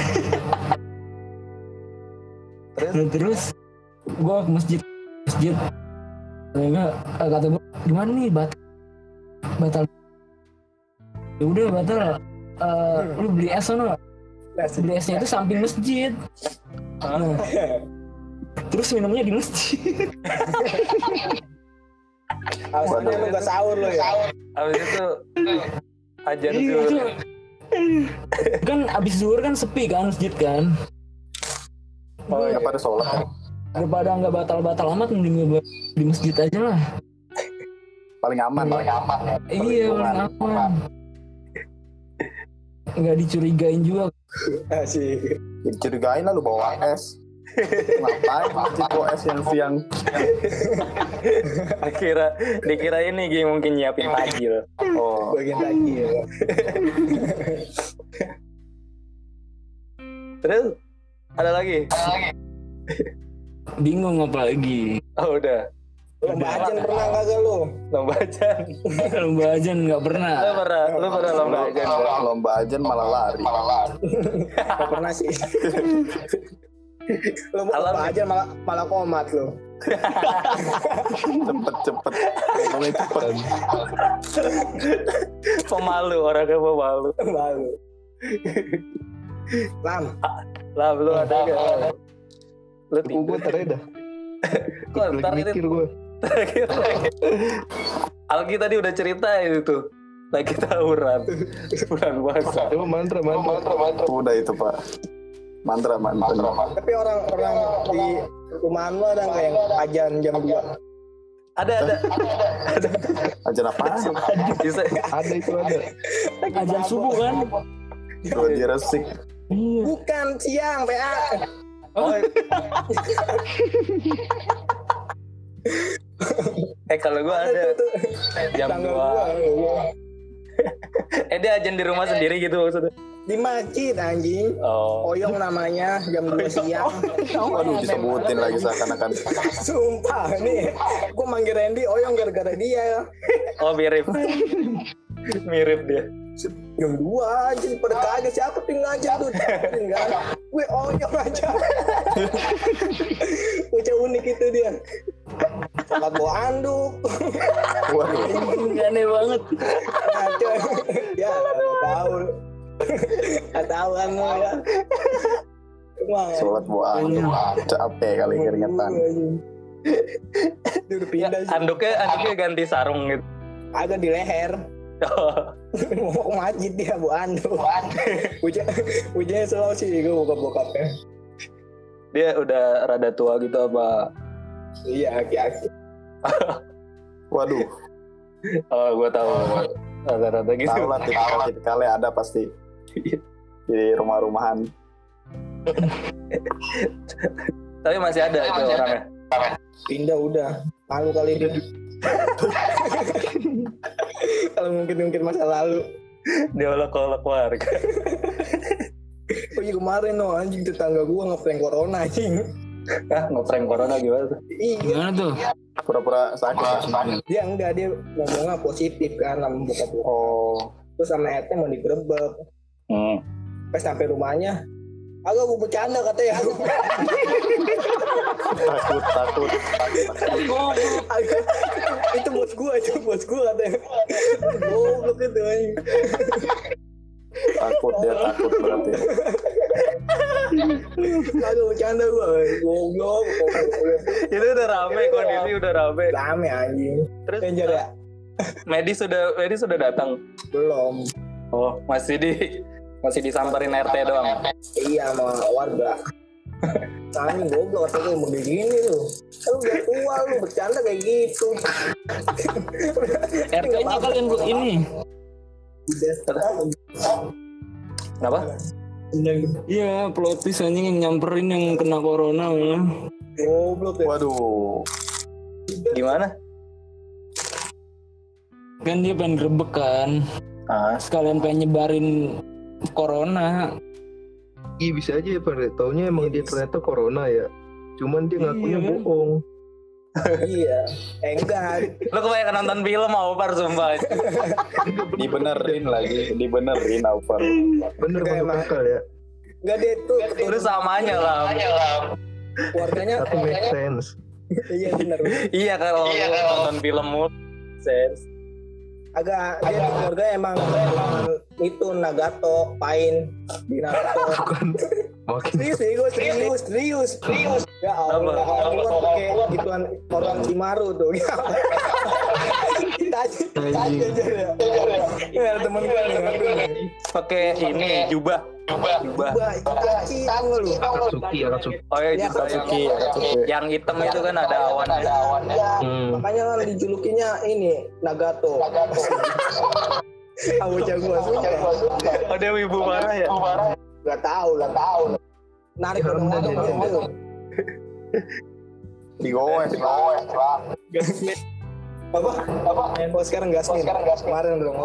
Terus gue ke masjid. Enggak kata gue gimana nih batal. Ya udah batal. Lu beli es sana. Beli esnya itu samping masjid. Nah, terus minumnya di masjid. Alasannya lu gak sahur lu ya. Abis itu ajan Iya, zuhur. Kan abis zuhur kan sepi kan masjid kan. Oh ya pada sholat kan. Daripada nggak batal-batal amat mending di masjid aja lah. Paling aman. Iya paling aman. Nggak dicurigain juga. Asik. Dicurigain lah lu bawa es. Ngapain masjid bawa es yang siang? Dikira ini Gi mungkin nyiapin takjil. Oh, Bagian lagi ya. Terus ada lagi? Bingung apa lagi? Oh udah. Lomba ajan pernah kagak lu? Lomba ajan. Lomba ajan nggak pernah. Lu pernah lomba ajan? lomba ajan malah lari. Gak pernah sih. Lomba ajan malah komat lu. Cepet. Ngomongnya cepet. Pemalu, orangnya pemalu. Malu. Lam, lu ada gak? Lu Gue tereda. Kok ntar mikir gue. Terakhir. Alki tadi udah cerita itu. Lagi tawuran bulan puasa. Coba mantra. Udah itu Pak. Mantra. Tapi orang di rumahan lu ada nggak yang ajan jam 2? Ada. Ajan apa? Bisa. Ada itu ada. Ajan subuh kan? Dua dia resik. Iya. Bukan siang, PA. Oh. Kalau gue ada jam 2. Dia ajan di rumah sendiri gitu maksudnya? Di masjid anjing. Oyong namanya jam 2 siang. Waduh disebutin lagi seakan-akan. Sumpah nih, gue manggil Randy Oyong gara-gara dia. Oh mirip dia. Jam 2 anjing pada kaget siapa tuh ngajar tuh. Enggak. Gue Oyong aja. Bocah unik itu dia. Sholat bawa anduk. Waduh. Aneh banget. Ngaco. Ya nggak tahu kan lo ya. Sholat buah capek kali keringetan. Dia udah pindah sih. Anduknya ganti sarung gitu. Agak di leher. Mau ke masjid dia bu anduk. Ujungnya selalu sih gue bokap-bokapnya. Dia udah rada tua gitu apa? Iya aki-aki. Waduh. Oh gue tahu. Rada-rada gitu. Tahu lah tipikal ada pasti di rumah-rumahan. Tapi masih ada itu orangnya. Pindah udah. Malu kali dia. Kalau mungkin masa lalu. Dia olok-olok warga. Oh iya kemarin anjing tetangga gua ngeprank corona anjing. Ngeprank corona gimana tuh? Iya. Gimana tuh? Pura-pura sakit. Dia enggak, dia ngomongnya positif kan sama bokap. Oh. Terus sama RT mau digerebek. Pas sampai rumahnya Agak gue bercanda katanya. Takut. Itu bos gue katanya. Goblok itu anjing. Takut berarti. Agak bercanda gue. Goblok. Itu udah rame, kondisi udah rame. Rame anjing. Terus Danger ya? medis sudah datang. Belum. Oh, masih disamperin RT doang. Iya sama warga. Anjing goblok katanya mau begini lu. Kan udah tua lu bercanda kayak gitu. RT-nya kalian buat ini. Kenapa? Iya, plotis anjing yang nyamperin yang kena corona. Goblok ya. Waduh. Gimana? Kan dia pengen grebek kan. Sekalian pengen nyebarin corona. Iya bisa aja ya pada taunya emang dia ternyata corona ya. Cuman dia ngakunya bohong. Iya. Enggak. Lu kebanyakan nonton film Aufar sumpah. Dibenerin Aufar. Bener banget akal ya. Enggak dia itu. Udah samanya lah. Keluarganya Tapi make sense. Iya benar. Iya kalau nonton film sense. Agak dia di keluarga emang itu Nagato, Pain, di Naruto. Serius. Ya Allah, aku kan pakai gituan orang Cimaru tuh. Tadi aja ya. Ya temen gue nih. Pakai ini jubah. Itachi tahu lu. Akatsuki. Oh iya, Akatsuki. Yang hitam itu kan ada awannya. Makanya kan dijulukinya ini Nagato. Aku jago suka. Oh dia wibu parah ya? Gak tahu. Narik orang-orang gitu. Digowes. Apa? Oh sekarang gasmin. Kemarin belum.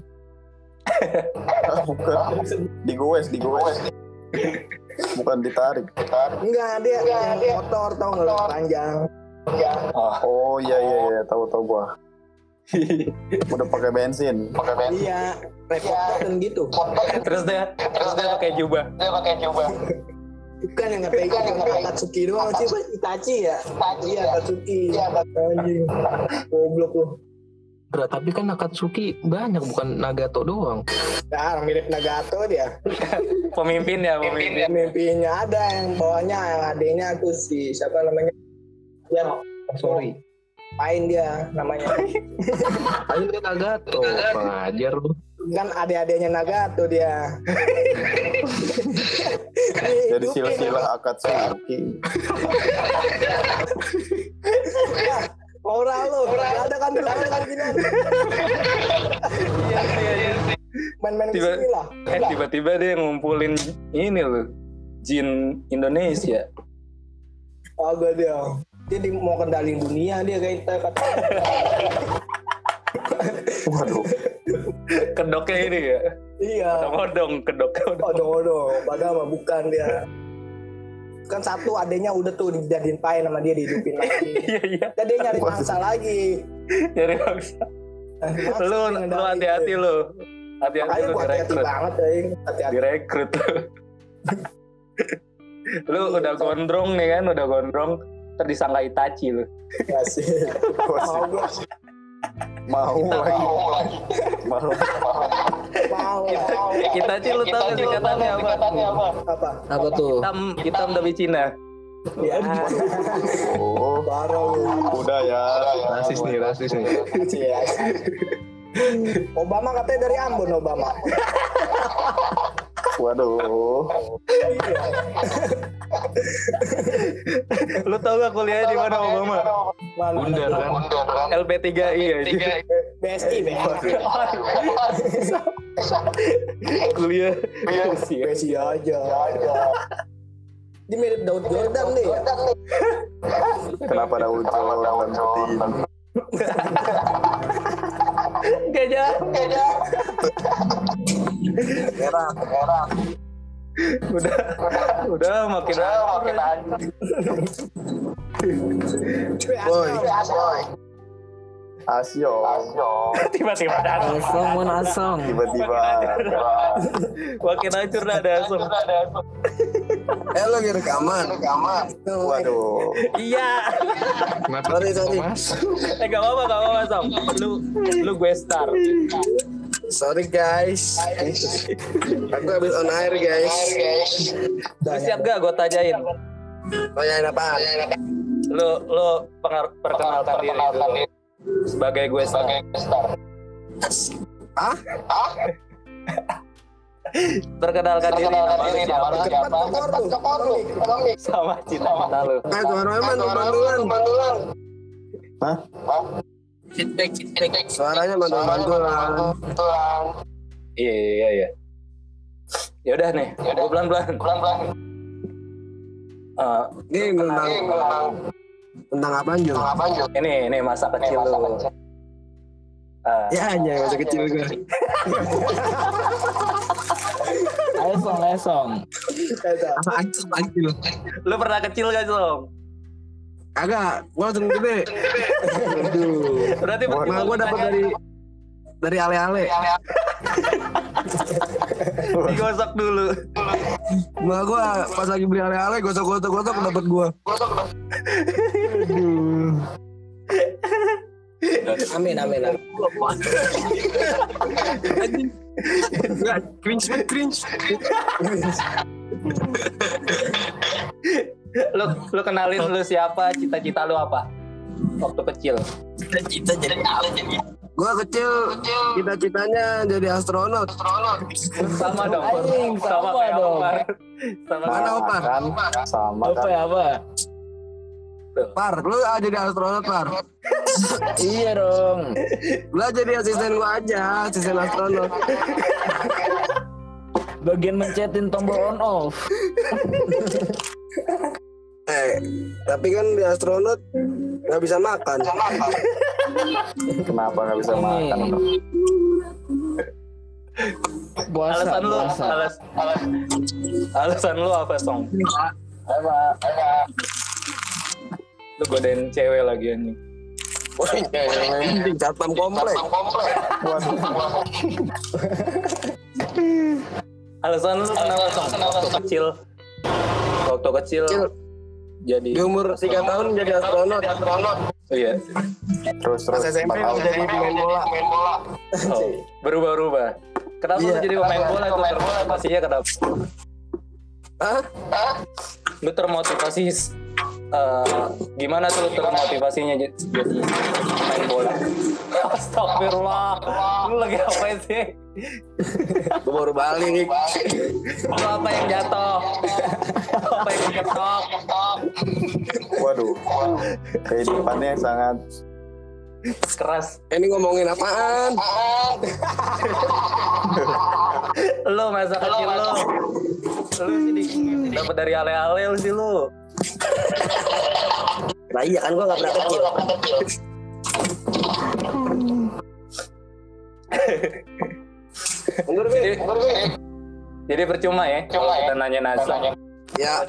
Bukan. Digowes. Bukan ditarik. Enggak, dia motor tau nggak panjang. Oh iya tahu gua. Udah pakai bensin. Iya, repot dan gitu. Terus dia pakai jubah. Bukan yang kata Akatsuki doang sih, Itachi ya. Iya, Akatsuki. Anjing. Goblok lu. Tapi kan Akatsuki banyak bukan Nagato doang. Nah, mirip Nagato dia. Pemimpinnya. Pemimpinnya ada yang bawahnya, yang adenya tuh si siapa namanya? Ya, Sorry. Pain dia namanya. Pain dia Nagato. Pengajar lu. Kan adik-adiknya Nagato dia. Jadi silsilah Akatsuki. Orang lu, ada kan gini. Iya. Main-main kesini lah. Tiba-tiba dia ngumpulin ini loh, jin Indonesia. Agak dia mau kendaliin dunia dia kayak kita kata. Waduh. Kedoknya ini ya? Iya. Odong. Padahal mah bukan dia. Kan satu adenya udah tuh dijadiin Pain sama dia dihidupin lagi. Iya. Dan dia nyari mangsa lagi. Nyari mangsa. Lu hati-hati lu. Hati-hati lu direkrut. Banget hati-hati. Direkrut. Lu udah gondrong nih kan, ntar disangka Itachi lu. Asik. Mau lagi. Itachi lu tahu gak singkatannya apa? Apa tuh? Hitam tapi Cina. Ya. Oh, parah lu. Udah ya. Rasis nih. Obama katanya dari Ambon, Obama. Waduh. Lu tahu gak kuliahnya di mana Obama? Undar kan. LP3I aja. BSI. Kuliah BSI aja. Dia mirip Daud Jordan deh ya. Kenapa Daud Jordan seperti ini? Gajah. Merah. Udah makin Boy. Asyo. Tiba-tiba ada Asong. Tiba-tiba. makin hancur dah ada Asong. Lo lagi rekaman. Waduh. Iya. Sorry. Gak apa-apa Som. Lu gue star. Sorry guys. Aku habis on air guys. Lu siap gak gue tanyain? Tanyain apaan? Lu perkenalkan diri dulu. Sebagai gue star. Hah? Perkenalkan diri nama lu siapa? Sama cita-cita lu. Bantuan. Hah? Feedback. Suaranya bantuan. Iya. Ya udah nih, gue pelan-pelan. Ini tentang apa Anjo? Ini masa kecil lu. Ya hanya masa kecil gue. Ayo song. Lu pernah kecil gak Som? Agak, gue langsung gede. Berarti Nah, gue dapat dari ale-ale. digosok dulu. Nah, gue pas lagi beli ale-ale gosok dapat gue. Amin. Enggak, cringe. Lu kenalin lu siapa, cita-cita lu apa waktu kecil? Cita-cita jadi apa jadi? Gue kecil cita-citanya jadi astronot. Sama dong. Sama kayak dong. Opar. Mana Opar? Kan sama Apa kan. ya apa? Par, lu jadi astronot Par. Iya dong. Lu jadi asisten gua aja, asisten astronot. Bagian mencetin tombol on off. Tapi kan di astronot nggak bisa makan. Kenapa nggak bisa makan? Alasan lu apa Song? Lu godain cewek lagi anjing. Wah, penting satpam komplek. Alasan lu kenapa Song? Waktu kecil jadi Di umur 3 tahun jadi astronot. iya. Terus SMP jadi pemain bola. Oh, berubah. Kenapa lu jadi pemain bola itu termotivasinya kenapa? Hah? Lu termotivasi gimana tuh termotivasinya jadi pemain bola? Astagfirullah. Lu lagi apa sih? Gue baru balik. Lu apa yang jatuh? Apa yang ketok? Waduh, kehidupannya sangat Keras. Ini ngomongin apaan? Lu masa kecil lu sih dapat dari ale-ale lu sih lu. Nah iya kan gue gak pernah kecil. Jadi percuma ya kita nanya Nasa. Ya,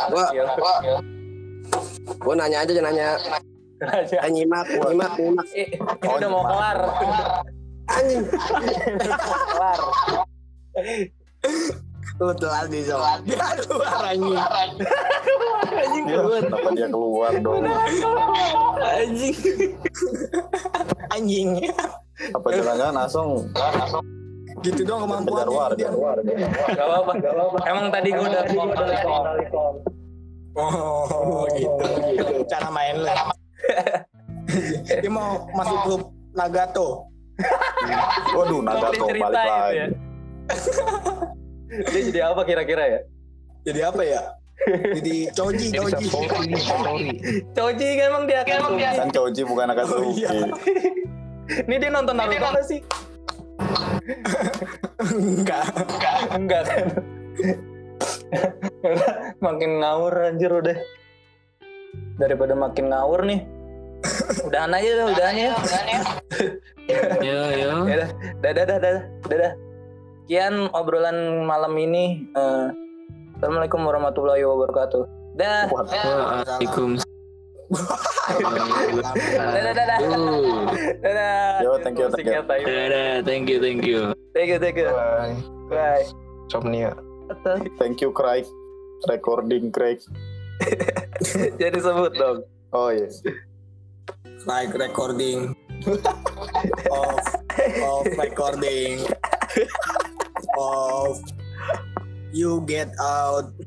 gue nanya aja nyimak. Ini udah mau kelar. Anjing. Kelar. Lu telat nih so. Dia keluar anjing. kenapa dia keluar dong? Anjing. Apa jangan-jangan Asong Gitu dong kemampuan. kejar warga? Gak apa-apa. Emang tadi gue udah telepon. Oh gitu. Cara main lu. Dia mau masuk grup Nagato. Waduh, Nagato balik lagi. Ya. Dia jadi apa kira-kira ya? Jadi apa ya? Jadi Choji. Choji kan emang dia Kan Choji bukan Akatsuki. Ini dia nonton Naruto apa sih? Enggak kan. Makin ngawur anjir udah. Daripada makin ngawur nih. Udahan ya. Yo. Dadah. Sekian obrolan malam ini. Assalamualaikum warahmatullahi wabarakatuh. Dah. Waalaikumsalam. Dadah. Yo, thank you. Dadah, thank you. Bye. Somnia. Thank you, Craig. Recording, Craig. Jadi sebut dong. Oh iya. Like recording. Of recording. Of you get out.